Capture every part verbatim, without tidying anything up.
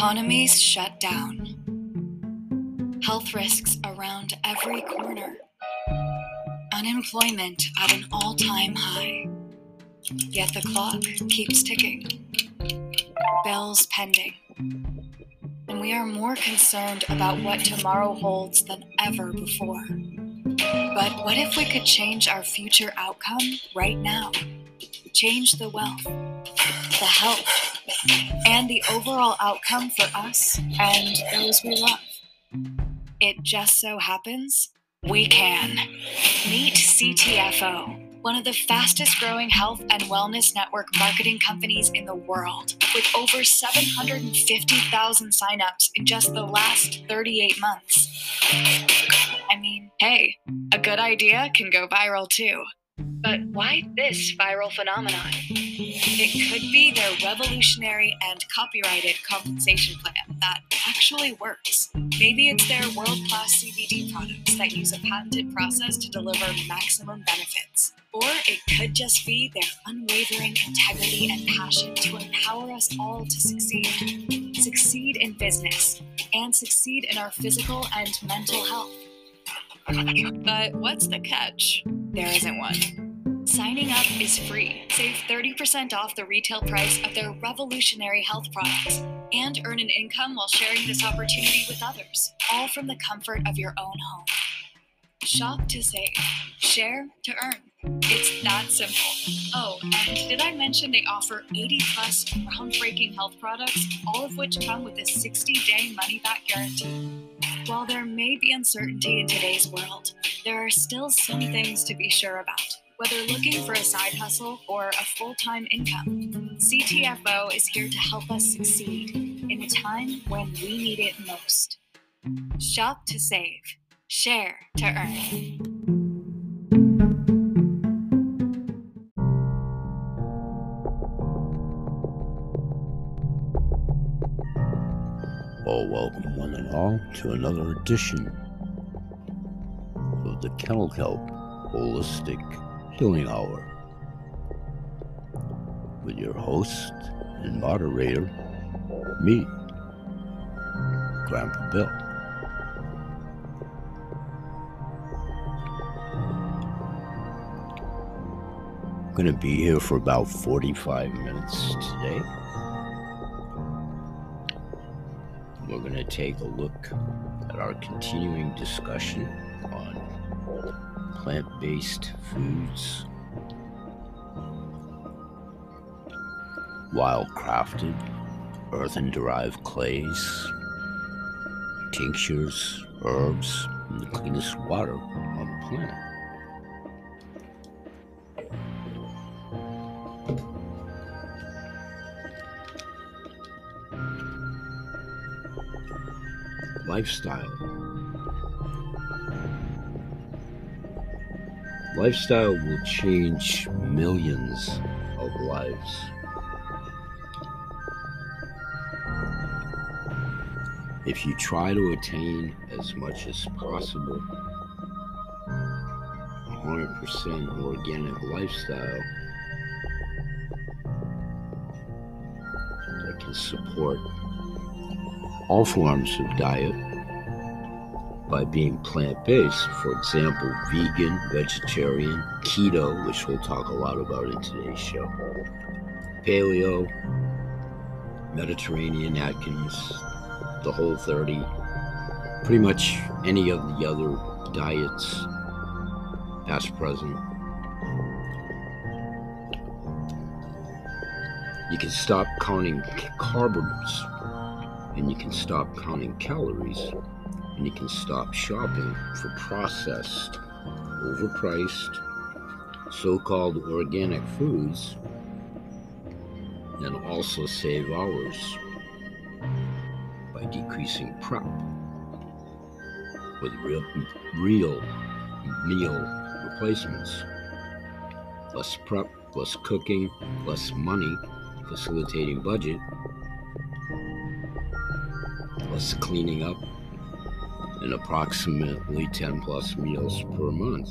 Economies shut down. Health risks around every corner. Unemployment at an all-time high. Yet the clock keeps ticking. Bills pending. And we are more concerned about what tomorrow holds than ever before. But what if we could change our future outcome right now? Change the wealth, the health, and the overall outcome for us and those we love. It just so happens we can. Meet C T F O, one of the fastest growing health and wellness network marketing companies in the world, with over seven hundred fifty thousand signups in just the last thirty-eight months. I mean, hey, a good idea can go viral too. But why this viral phenomenon? It could be their revolutionary and copyrighted compensation plan that actually works. Maybe it's their world-class C B D products that use a patented process to deliver maximum benefits. Or it could just be their unwavering integrity and passion to empower us all to succeed. Succeed in business and succeed in our physical and mental health. But what's the catch? There isn't one. Signing up is free. Save thirty percent off the retail price of their revolutionary health products and earn an income while sharing this opportunity with others, all from the comfort of your own home. Shop to save. Share to earn. It's that simple. Oh, and did I mention they offer eighty plus groundbreaking health products, all of which come with a sixty day money-back guarantee? While there may be uncertainty in today's world, there are still some things to be sure about. Whether looking for a side hustle or a full-time income, C T F O is here to help us succeed in a time when we need it most. Shop to save. Share to earn. Well, welcome one and all to another edition of the Kennel Kelp Holistic Healing Hour with your host and moderator, me, Grandpa Bill. I'm going to be here for about forty-five minutes today. We're going to take a look at our continuing discussion on plant-based foods, wild-crafted, earthen-derived clays, tinctures, herbs, and the cleanest water on the planet. Lifestyle. Lifestyle will change millions of lives. If you try to attain as much as possible one hundred percent organic lifestyle that can support all forms of diet by being plant-based, for example, vegan, vegetarian, keto, which we'll talk a lot about in today's show, paleo, Mediterranean, Atkins, the Whole thirty, pretty much any of the other diets, past, present. You can stop counting carbs, and you can stop counting calories, and you can stop shopping for processed, overpriced, so-called organic foods, and also save hours by decreasing prep with real, real meal replacements. Less prep, less cooking, less money, facilitating budget, less cleaning up, and approximately ten plus meals per month.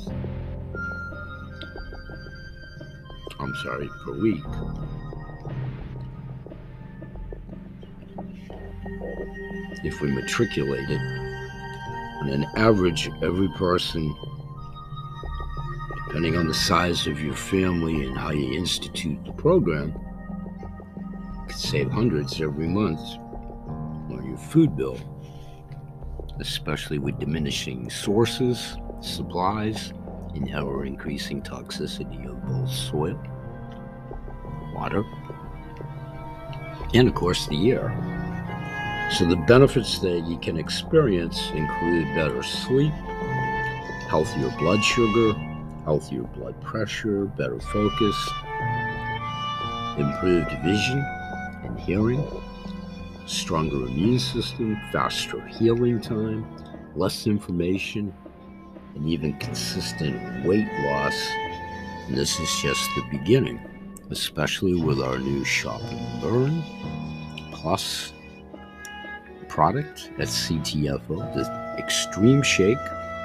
I'm sorry, per week. if we matriculate it. On an average, every person, depending on the size of your family and how you institute the program, could save hundreds every month on your food bill, especially with diminishing sources, supplies, and ever-increasing toxicity of both soil, water, and of course the air. So the benefits that you can experience include better sleep, healthier blood sugar, healthier blood pressure, better focus, improved vision and hearing, stronger immune system, faster healing time, less inflammation, and even consistent weight loss. And this is just the beginning, especially with our new Shop and Burn Plus product at C T F O, the Extreme Shake,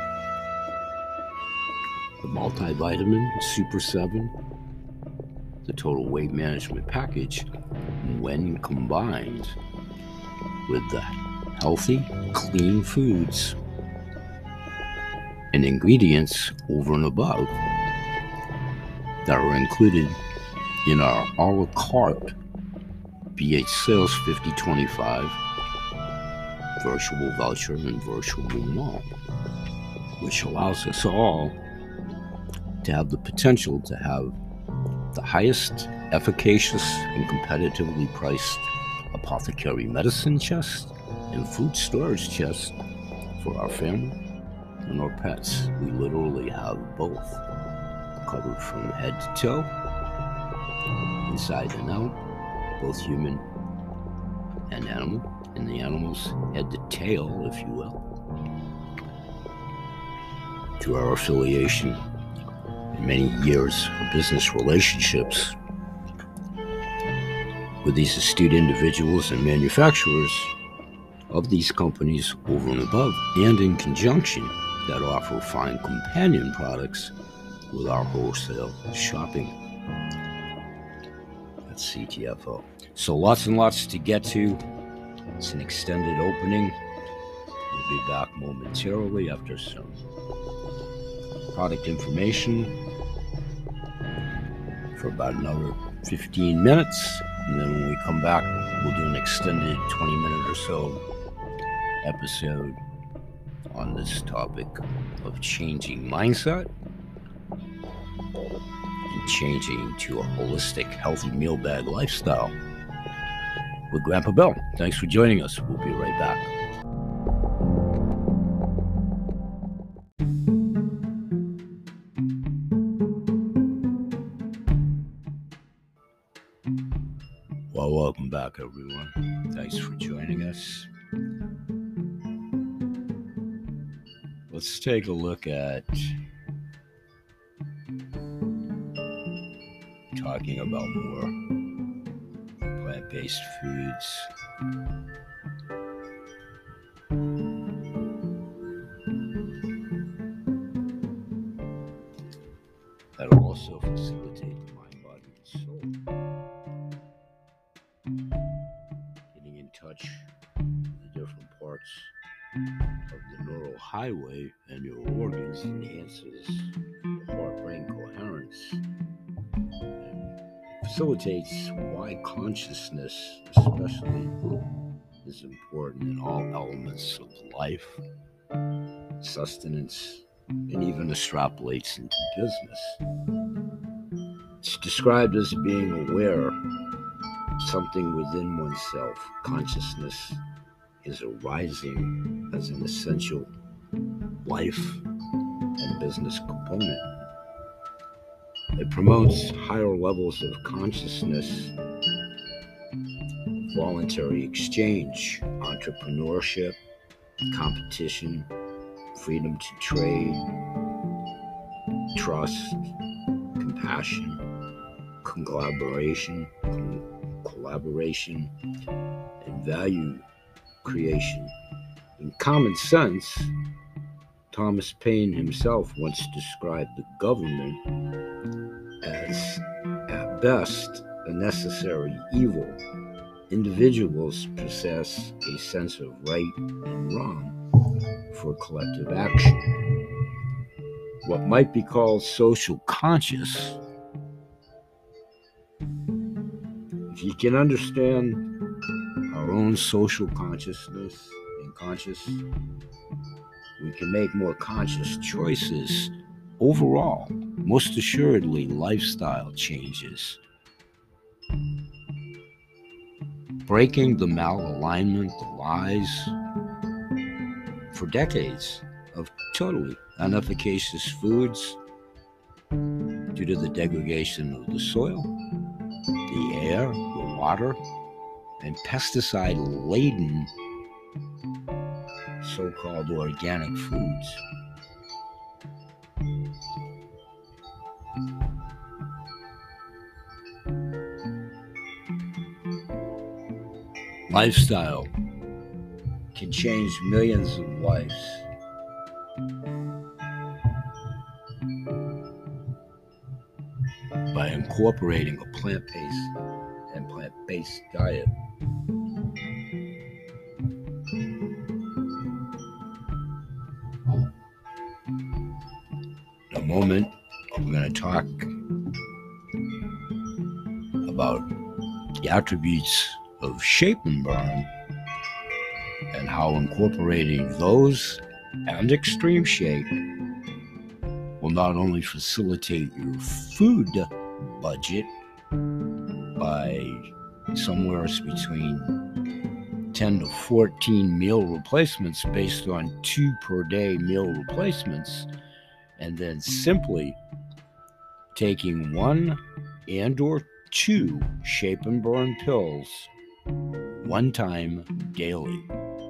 the multivitamin Super seven, the total weight management package, when combined with the healthy, clean foods and ingredients over and above that are included in our a la carte B H Sales fifty twenty-five virtual voucher and virtual mall, which allows us all to have the potential to have the highest efficacious and competitively priced apothecary medicine chest and food storage chest for our family and our pets. We literally have both covered from head to toe, inside and out, both human and animal, and the animals head to tail, if you will, through our affiliation and many years of business relationships with these astute individuals and manufacturers of these companies over and above, and in conjunction that offer fine companion products with our wholesale shopping at C T F O. So lots and lots to get to. It's an extended opening. We'll be back momentarily after some product information for about another fifteen minutes. And then when we come back, we'll do an extended twenty minute or so episode on this topic of changing mindset and changing to a holistic, healthy meal bag lifestyle with Grandpa Bill. Thanks for joining us. We'll be right back. Well, welcome back, everyone. Thanks for joining us. Let's take a look at talking about more plant-based foods. That also facilitate the mind, body, and soul. Getting in touch with the different parts of the neural highway and your organs enhances the heart-brain coherence and facilitates why consciousness especially is important in all elements of life, sustenance, and even extrapolates into business. It's described as being aware of something within oneself. Consciousness is arising as an essential life and business component. It promotes higher levels of consciousness, voluntary exchange, entrepreneurship, competition, freedom to trade, trust, compassion, collaboration, collaboration, and value creation. In common sense, Thomas Paine himself once described the government as, at best, a necessary evil, individuals possess a sense of right and wrong for collective action. What might be called social conscious. If you can understand our own social consciousness and conscious, we can make more conscious choices. Overall, most assuredly, lifestyle changes. Breaking the malalignment, the lies, for decades of totally inefficacious foods due to the degradation of the soil, the air, the water, and pesticide-laden so-called organic foods. Lifestyle can change millions of lives. By incorporating a plant-based and plant-based diet. In a moment, we're going to talk about the attributes of Shape and Burn and how incorporating those and Extreme Shake will not only facilitate your food budget by somewhere between ten to fourteen meal replacements based on two per day meal replacements, and then simply taking one and or two Shape and Burn pills one time daily.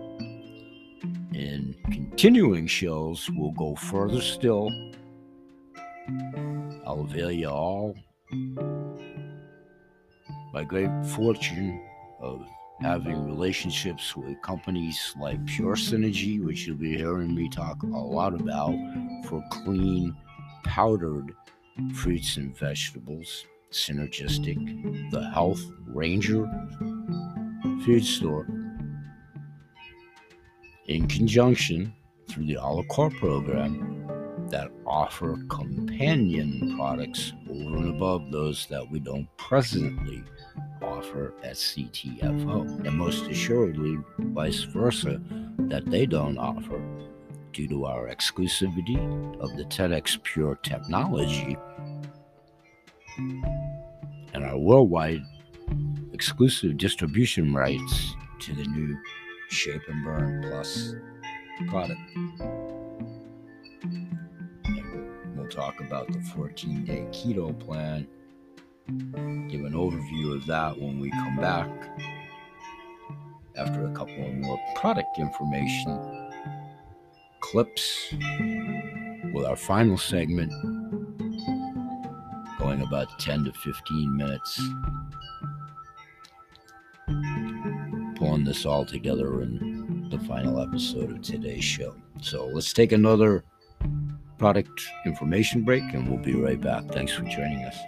In continuing shows, we'll go further still. I'll avail you all by great fortune of having relationships with companies like Pure Synergy, which you'll be hearing me talk a lot about, for clean, powdered fruits and vegetables. Synergistic, the Health Ranger Food Store, in conjunction through the a la carte program that offer companion products over and above those that we don't presently offer at C T F O, and most assuredly vice versa, that they don't offer due to our exclusivity of the TEDx Pure technology and our worldwide exclusive distribution rights to the new Shape and Burn Plus product. And we'll talk about the fourteen-day keto plan, give an overview of that when we come back after a couple of more product information clips, with our final segment going about ten to fifteen minutes, pulling this all together in the final episode of today's show. So let's take another product information break and we'll be right back. Thanks for joining us.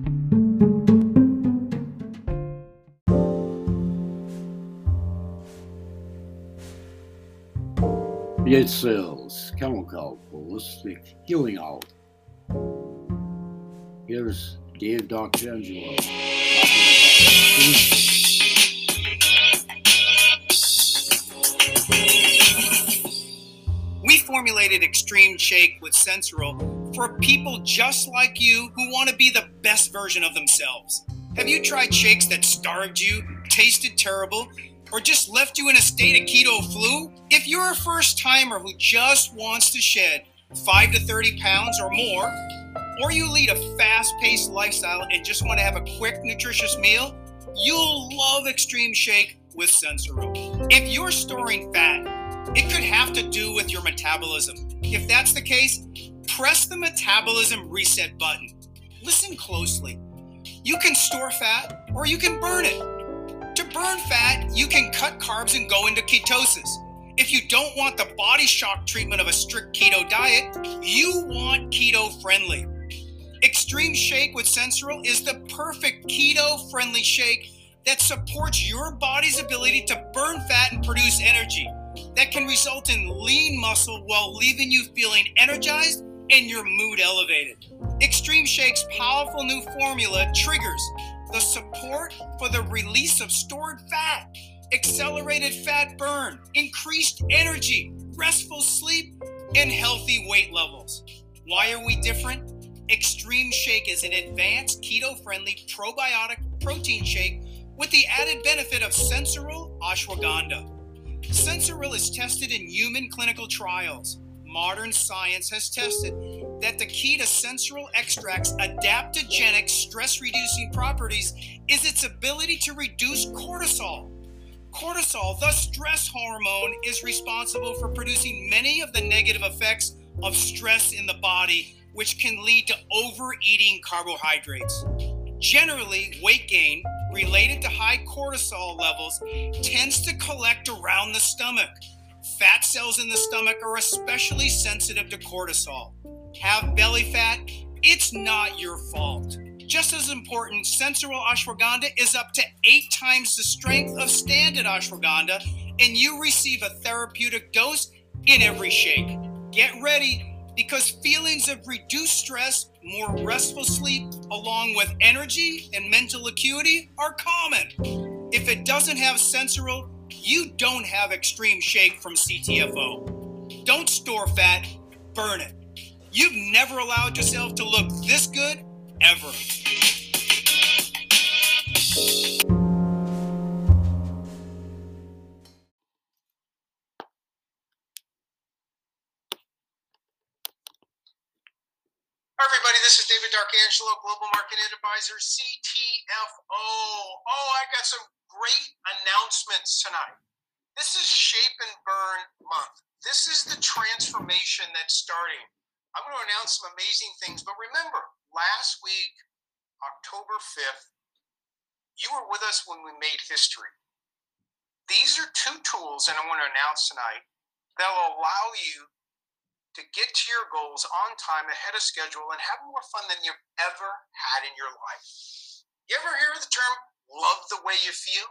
Create Sales Chemical Holistic Healing Out. Here's Dave Doctangelo. We formulated Extreme Shake with Sensoril for people just like you who want to be the best version of themselves. Have you tried shakes that starved you, tasted terrible, or just left you in a state of keto flu? If you're a first timer who just wants to shed five to thirty pounds or more, or you lead a fast-paced lifestyle and just want to have a quick, nutritious meal, you'll love Extreme Shake with Sensoril. If you're storing fat, it could have to do with your metabolism. If that's the case, press the metabolism reset button. Listen closely. You can store fat or you can burn it. To burn fat, you can cut carbs and go into ketosis. If you don't want the body shock treatment of a strict keto diet, you want keto-friendly. Extreme Shake with Sensoril is the perfect keto-friendly shake that supports your body's ability to burn fat and produce energy that can result in lean muscle while leaving you feeling energized and your mood elevated. Extreme Shake's powerful new formula triggers the support for the release of stored fat, accelerated fat burn, increased energy, restful sleep, and healthy weight levels. Why are we different? Extreme Shake is an advanced keto-friendly probiotic protein shake with the added benefit of Sensoril ashwagandha. Sensoril is tested in human clinical trials. Modern science has tested that the key to Sensoril extract's adaptogenic stress-reducing properties is its ability to reduce cortisol. Cortisol, the stress hormone, is responsible for producing many of the negative effects of stress in the body, which can lead to overeating carbohydrates. Generally, weight gain related to high cortisol levels tends to collect around the stomach. Fat cells in the stomach are especially sensitive to cortisol. Have belly fat? It's not your fault. Just as important, Sensoril ashwagandha is up to eight times the strength of standard ashwagandha, and you receive a therapeutic dose in every shake. Get ready, because feelings of reduced stress, more restful sleep, along with energy and mental acuity are common. If it doesn't have Sensoril, you don't have Extreme Shake from C T F O. Don't store fat, burn it. You've never allowed yourself to look this good, ever. Hi everybody, this is David D'Arcangelo, Global Marketing Advisor, C T F O. Oh, I got some great announcements tonight. This is Shape and Burn Month. This is the transformation that's starting. I'm going to announce some amazing things, but remember, last week, October fifth, you were with us when we made history. These are two tools that I want to announce tonight that will allow you to get to your goals on time, ahead of schedule, and have more fun than you've ever had in your life. You ever hear the term, love the way you feel?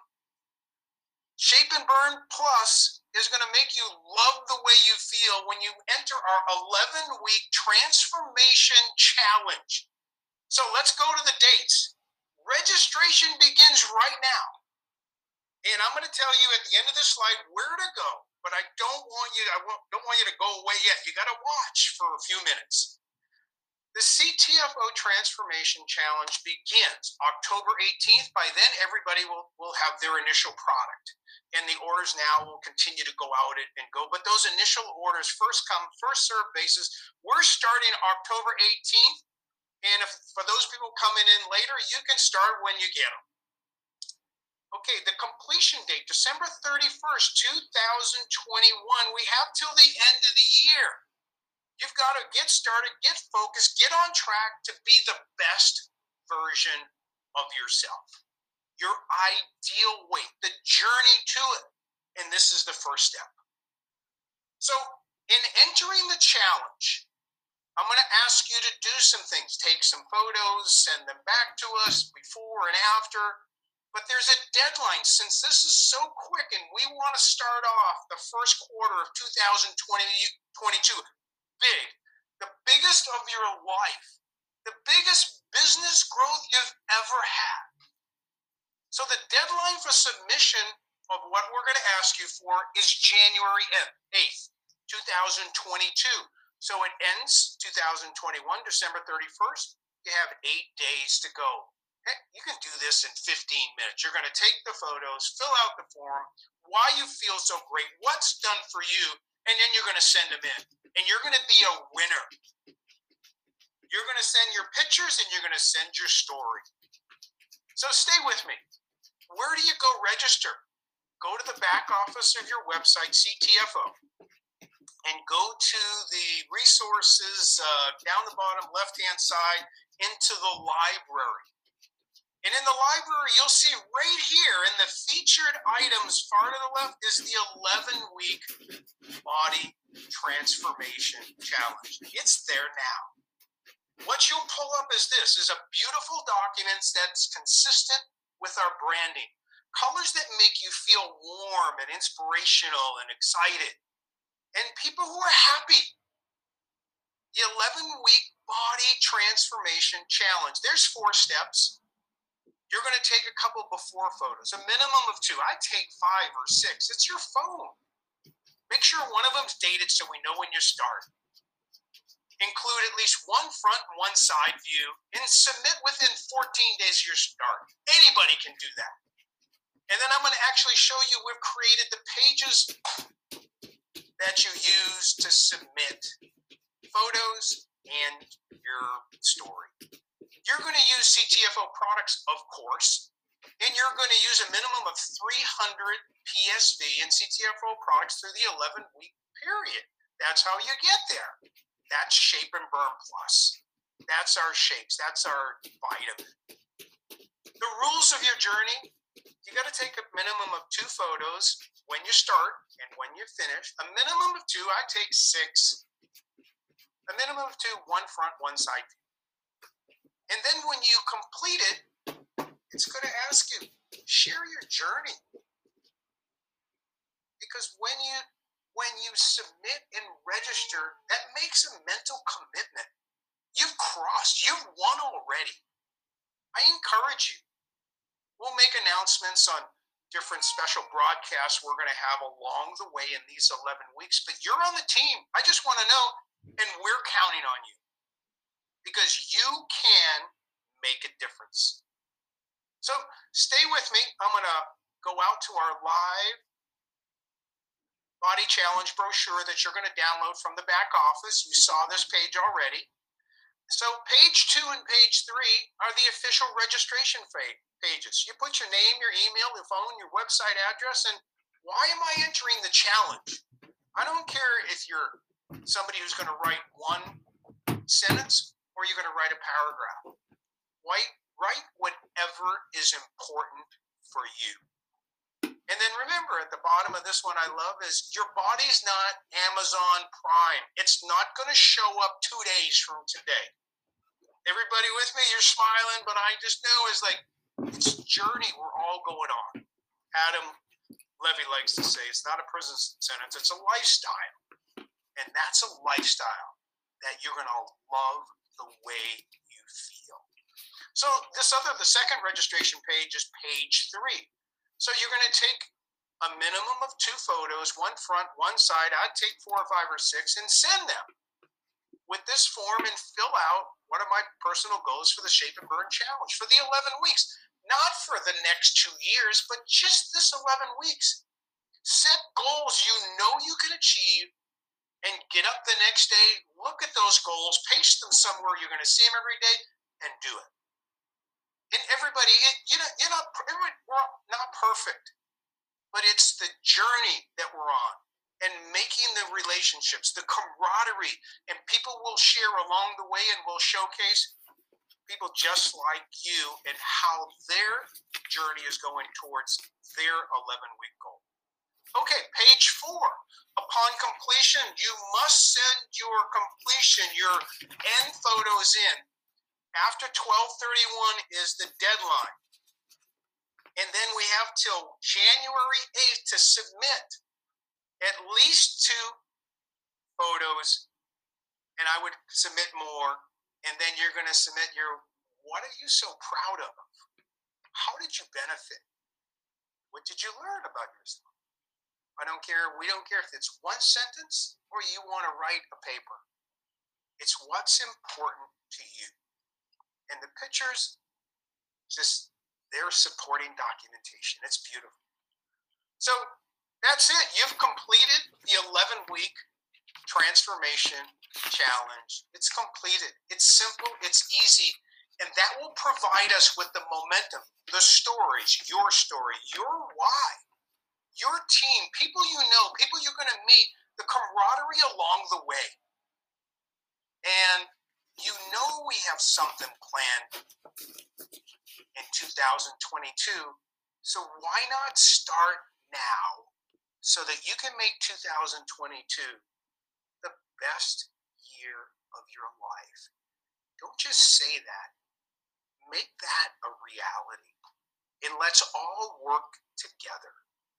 Shape and Burn Plus is going to make you love the way you feel when you enter our eleven-week transformation challenge. So let's go to the dates. Registration begins right now. And I'm going to tell you at the end of this slide where to go, but I don't want you I don't want you to go away yet. You got to watch for a few minutes. The C T F O Transformation Challenge begins October eighteenth. By then, everybody will, will have their initial product. And the orders now will continue to go out and go. But those initial orders, first come, first served basis, we're starting October eighteenth. And if for those people coming in later, you can start when you get them. Okay, the completion date, December thirty-first, two thousand twenty-one. We have till the end of the year. You've got to get started, get focused, get on track to be the best version of yourself. Your ideal weight, the journey to it. And this is the first step. So in entering the challenge, I'm going to ask you to do some things. Take some photos, send them back to us before and after. But there's a deadline since this is so quick and we want to start off the first quarter of two thousand twenty-two big, the biggest of your life, the biggest business growth you've ever had. So the deadline for submission of what we're going to ask you for is January eighth, two thousand twenty-two. So it ends two thousand twenty-one, December thirty-first. You have eight days to go. Heck, you can do this in fifteen minutes. You're going to take the photos, fill out the form, why you feel so great, what's done for you, and then you're going to send them in. And you're going to be a winner. You're going to send your pictures and you're going to send your story. So stay with me. Where do you go register? Go to the back office of your website, C T F O, and go to the resources uh, down the bottom left-hand side into the library. And in the library, you'll see right here in the featured items far to the left is the eleven-week Body Transformation Challenge. It's there now. What you'll pull up is this, is a beautiful document that's consistent with our branding. colors that make you feel warm and inspirational and excited, and people who are happy. The eleven-week body transformation challenge. There's four steps. You're going to take a couple before photos, a minimum of two. I take five or six. It's your phone. Make sure one of them's dated so we know when you start. Include at least one front and one side view, and submit within fourteen days of your start. Anybody can do that. And then I'm going to actually show you we've created the pages that you use to submit photos and your story. You're going to use C T F O products, of course, and you're going to use a minimum of three hundred P S V and C T F O products through the eleven-week period. That's how you get there. That's Shape and Burn Plus. That's our shakes. That's our vitamin. The rules of your journey, you got to take a minimum of two photos when you start and when you finish. A minimum of two. I take six. A minimum of two, one front, one side view. And then when you complete it, it's going to ask you, share your journey. Because when you when you submit and register, that makes a mental commitment. You've crossed, you've won already. I encourage you. We'll make announcements on different special broadcasts we're going to have along the way in these eleven weeks, but you're on the team. I just want to know, and we're counting on you because you can make a difference. So stay with me. I'm going to go out to our live body challenge brochure that you're going to download from the back office. You saw this page already. So page two and page three are the official registration pages. You put your name, your email, your phone, your website address, and why am I entering the challenge? I don't care if you're somebody who's going to write one sentence or you're going to write a paragraph. Write, write whatever is important for you. And then remember, at the bottom of this one I love is your body's not Amazon Prime. It's not going to show up two days from today. Everybody with me? You're smiling, but I just know it's like, it's a journey we're all going on. Adam Levy likes to say it's not a prison sentence, it's a lifestyle. And that's a lifestyle that you're going to love the way you feel. So this other, the second registration page is page three. So you're going to take a minimum of two photos, one front, one side. I'd take four or five or six and send them with this form and fill out what are my personal goals for the Shape and Burn Challenge for the eleven weeks. Not for the next two years, but just this eleven weeks. Set goals you know you can achieve and get up the next day, look at those goals, paste them somewhere you're going to see them every day, and do it. And everybody, it, you know, you're not, we're not perfect, but it's the journey that we're on and making the relationships, the camaraderie, and people will share along the way and will showcase people just like you and how their journey is going towards their eleven-week goal. Okay, page four. Upon completion, you must send your completion, your end photos in. After twelve thirty-one is the deadline. And then we have till January eighth to submit at least two photos. And I would submit more. And then you're going to submit your, what are you so proud of? How did you benefit? What did you learn about yourself? I don't care. We don't care if it's one sentence or you want to write a paper. It's what's important to you. And the pictures, just they're supporting documentation. It's beautiful. So that's it. You've completed the eleven-week transformation challenge. It's completed. It's simple. It's easy. And that will provide us with the momentum, the stories, your story, your why, your team, people you know, people you're going to meet, the camaraderie along the way. And you know we have something planned in two thousand twenty-two, so why not start now so that you can make two thousand twenty-two the best year of your life? Don't just say that. Make that a reality. and let's all work together.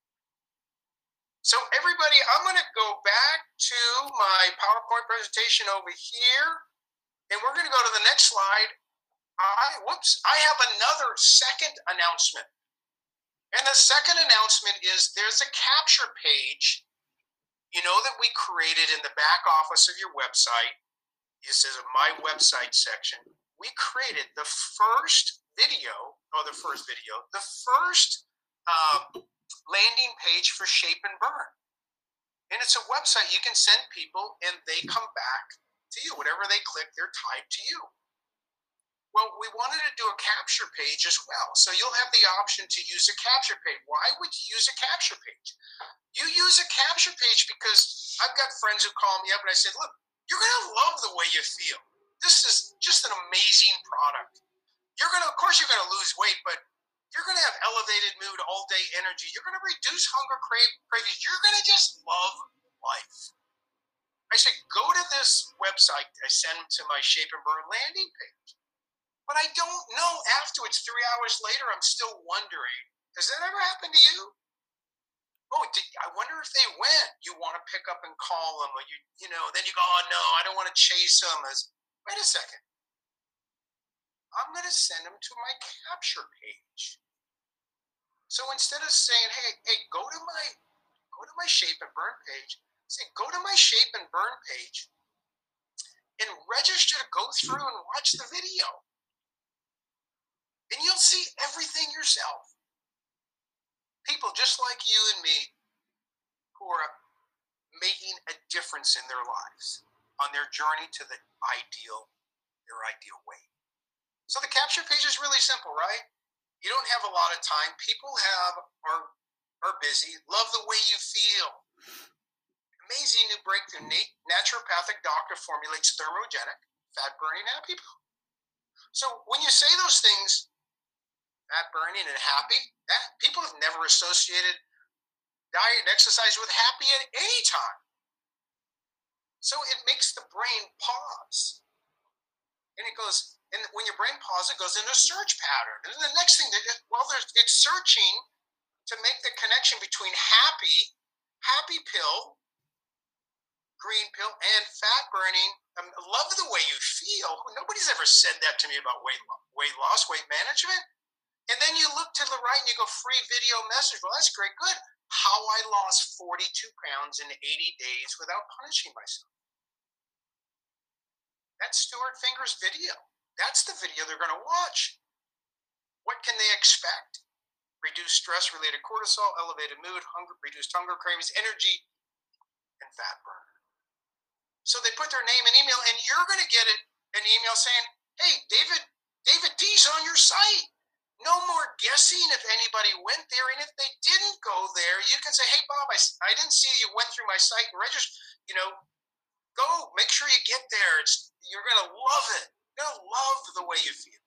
So everybody, I'm going to go back to my PowerPoint presentation over here, and we're going to go to the next slide. I, whoops, I have another second announcement. And the second announcement is there's a capture page, you know, that we created in the back office of your website. This is my website section. We created the first video, or the first video, the first uh, landing page for Shape and Burn. And it's a website you can send people and they come back to you. Whatever they click, they're tied to you. Well, we wanted to do a capture page as well. So you'll have the option to use a capture page. Why would you use a capture page? You use a capture page because I've got friends who call me up and I said, look, you're going to love the way you feel. This is just an amazing product. You're going to, of course, you're going to lose weight, but you're going to have elevated mood, all day energy. You're going to reduce hunger crave, cravings. You're going to just love life. I said, go to this website. I send them to my Shape and Burn landing page. But I don't know, afterwards, three hours later, I'm still wondering, has that ever happened to you? Oh, did, I wonder if they went. You want to pick up and call them, or you, you know, then you go, oh no, I don't want to chase them. As, wait a second. I'm going to send them to my capture page. So instead of saying, hey, hey, go to my, go to my Shape and Burn page, say, go to my Shape and Burn page and register to go through and watch the video. And you'll see everything yourself. People just like you and me who are making a difference in their lives on their journey to the ideal, their ideal weight. So the capture page is really simple, right? You don't have a lot of time. People have are are busy. Love the way you feel. Amazing new breakthrough. Naturopathic doctor formulates thermogenic, fat-burning happy pill. So when you say those things, fat burning and happy, that, people have never associated diet and exercise with happy at any time. So it makes the brain pause. And it goes, and when your brain pauses, it goes into a search pattern. And then the next thing, that it, well, there's, it's searching to make the connection between happy, happy pill, green pill, and fat burning. I um, love the way you feel. Nobody's ever said that to me about weight loss, weight loss, weight management. And then you look to the right and you go, free video message. Well, that's great. Good. How I lost forty-two pounds in eighty days without punishing myself. That's Stuart Finger's video. That's the video they're going to watch. What can they expect? Reduced stress-related cortisol, elevated mood, hunger, reduced hunger cravings, energy, and fat burn. So they put their name and email, and you're going to get it, an email saying, hey, David, David D's on your site. No more guessing if anybody went there. And if they didn't go there, you can say, hey, Bob, I, I didn't see you went through my site and registered. You know, go. Make sure you get there. It's, you're going to love it. You're going to love the way you feel.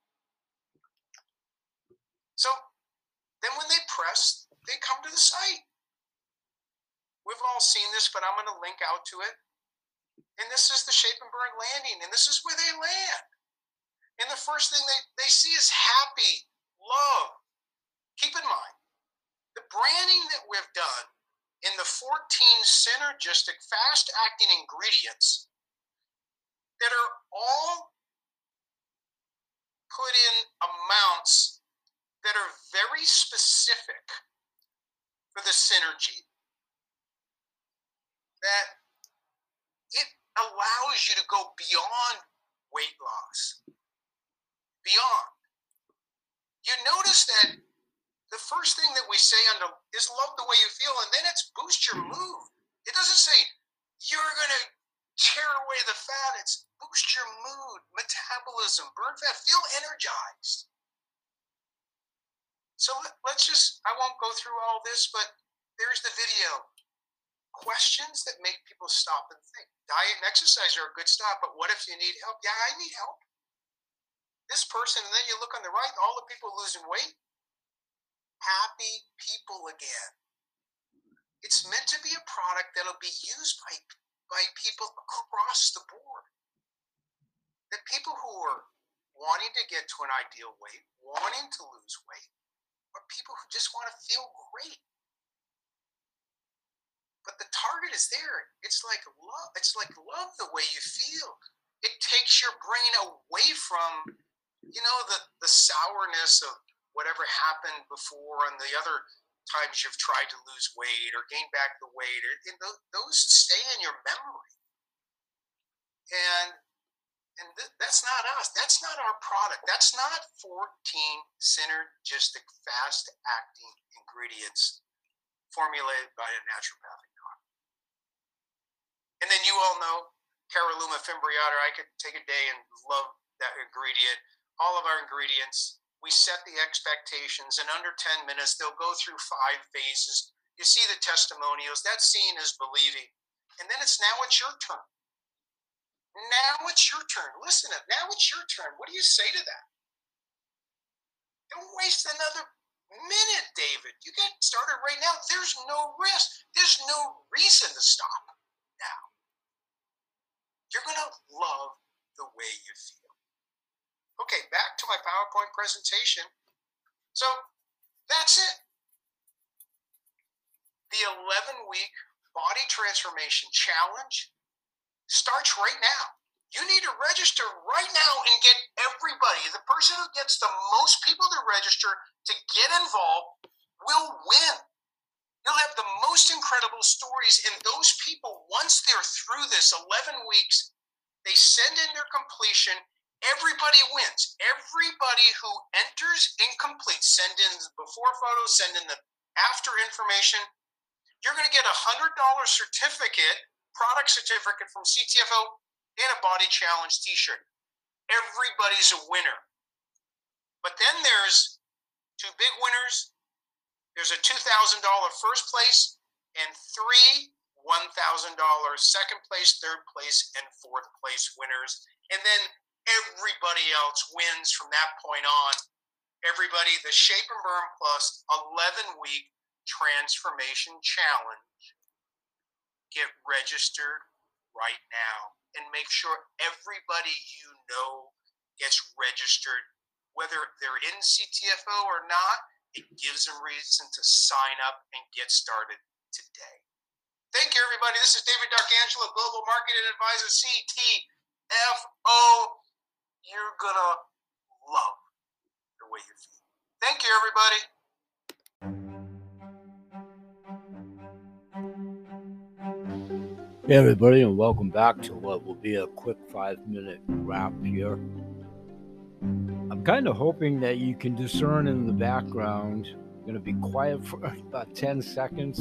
So then when they press, they come to the site. We've all seen this, but I'm going to link out to it. And this is the Shape and Burn landing. And this is where they land. And the first thing they, they see is happy. Love. Keep in mind, the branding that we've done in the fourteen synergistic, fast-acting ingredients that are all put in amounts that are very specific for the synergy, that it allows you to go beyond weight loss. Beyond. You notice that the first thing that we say under is love the way you feel, and then it's boost your mood. It doesn't say you're going to tear away the fat. It's boost your mood, metabolism, burn fat, feel energized. So let's just, I won't go through all this, but there's the video. Questions that make people stop and think. Diet and exercise are a good start, but what if you need help? Yeah, I need help. This person, and then you look on the right, all the people losing weight, happy people again. It's meant to be a product that'll be used by, by people across the board. The people who are wanting to get to an ideal weight, wanting to lose weight, are people who just want to feel great. But the target is there. It's like love. It's like love the way you feel. It takes your brain away from, you know, the, the sourness of whatever happened before and the other times you've tried to lose weight or gain back the weight. Or, you know, those stay in your memory. And and th- that's not us. That's not our product. That's not fourteen synergistic, fast-acting ingredients formulated by a naturopathic doctor. And then you all know Caralluma fimbriata. I could take a day and love that ingredient. All of our ingredients, we set the expectations. In under ten minutes, they'll go through five phases. You see the testimonials. That seeing is believing. And then it's now it's your turn. Now it's your turn. Listen up. Now it's your turn. What do you say to that? Don't waste another minute, David. You get started right now. There's no risk. There's no reason to stop now. You're going to love the way you feel. Okay, back to my PowerPoint presentation. So that's it. The eleven-week Body Transformation Challenge starts right now. You need to register right now and get everybody. The person who gets the most people to register to get involved will win. You'll have the most incredible stories, and those people, once they're through this eleven weeks, they send in their completion. Everybody wins. Everybody who enters incomplete, send in the before photos, send in the after information. You're going to get a one hundred dollars certificate, product certificate from C T F O, and a Body Challenge t-shirt. Everybody's a winner. But then there's two big winners. There's a two thousand dollars first place and three one thousand dollars second place, third place, and fourth place winners. And then everybody else wins from that point on. Everybody, the Shape and Burn Plus eleven-week Transformation Challenge. Get registered right now and make sure everybody you know gets registered, whether they're in C T F O or not. It gives them reason to sign up and get started today. Thank you, everybody. This is David D'Arcangelo, Global Marketing Advisor, C T F O. You're going to love the way you feel. Thank you, everybody. Hey everybody, and welcome back to what will be a quick five-minute wrap here. I'm kind of hoping that you can discern in the background. I'm going to be quiet for about ten seconds.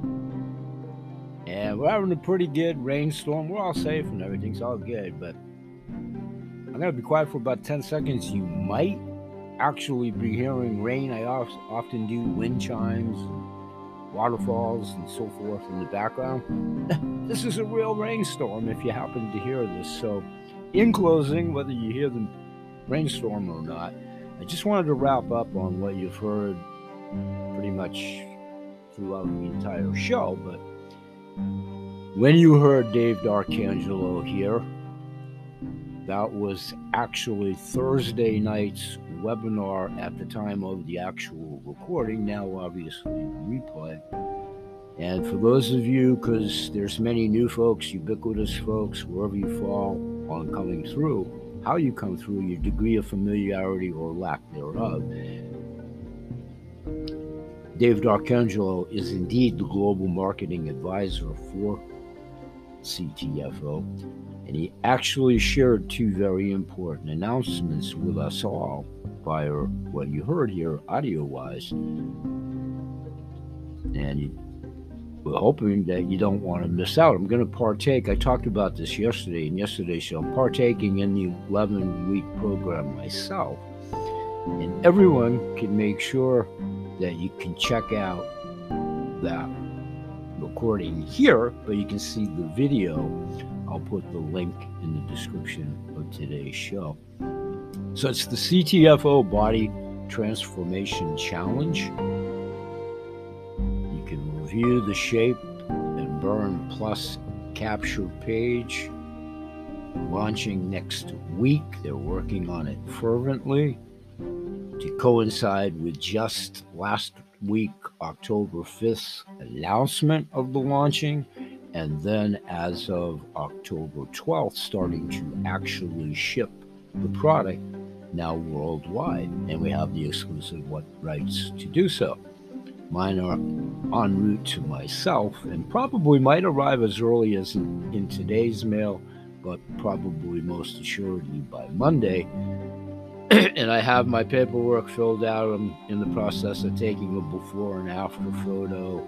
And we're having a pretty good rainstorm. We're all safe and everything's all good, but I'm going to be quiet for about ten seconds. You might actually be hearing rain. I often do wind chimes, waterfalls, and so forth in the background. This is a real rainstorm if you happen to hear this. So in closing, whether you hear the rainstorm or not, I just wanted to wrap up on what you've heard pretty much throughout the entire show. But when you heard Dave D'Arcangelo here, that was actually Thursday night's webinar at the time of the actual recording, now obviously replay. And for those of you, because there's many new folks, ubiquitous folks, wherever you fall on coming through, how you come through, your degree of familiarity or lack thereof, Dave D'Arcangelo is indeed the global marketing advisor for C T F O, and he actually shared two very important announcements with us all via what you heard here audio-wise. And we're hoping that you don't want to miss out. I'm going to partake. I talked about this yesterday in yesterday's show. I'm partaking in the eleven-week program myself. And everyone can make sure that you can check out that recording here, but you can see the video. I'll put the link in the description of today's show. So it's the C T F O Body Transformation Challenge. You can review the Shape and Burn Plus capture page. Launching next week. They're working on it fervently. to coincide with just last week, October fifth, announcement of the launching, and then as of October twelfth, starting to actually ship the product now worldwide, and we have the exclusive rights to do so. Mine are en route to myself and probably might arrive as early as in, in today's mail, but probably most assuredly by Monday. And I have my paperwork filled out. I'm in the process of taking a before and after photo.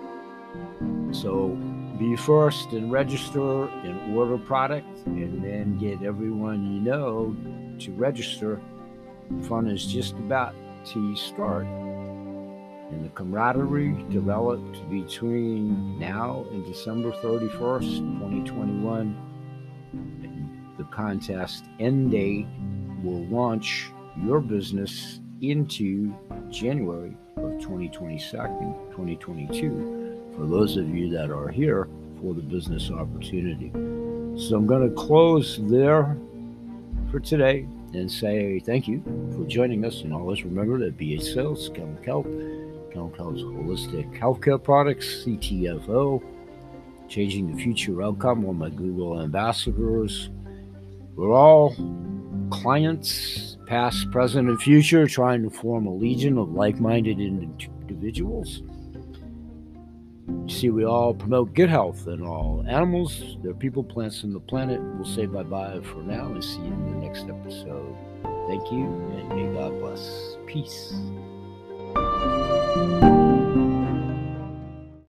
So be first and register and order product, and then get everyone you know to register. The fun is just about to start. And the camaraderie developed between now and December thirty-first, twenty twenty-one. And the contest end date will launch your business into January of twenty twenty-two, twenty twenty-two, for those of you that are here for the business opportunity. So I'm going to close there for today and say thank you for joining us. And always remember that B H Sales, Kelm Health, Kelm Health's Holistic Healthcare Products, C T F O, Changing the Future Outcome, one of my Google ambassadors. We're all clients, past, present, and future, trying to form a legion of like-minded individuals. You see, we all promote good health in all animals, their people, plants, and the planet. We'll say bye-bye for now and see you in the next episode. Thank you, and may God bless. Peace.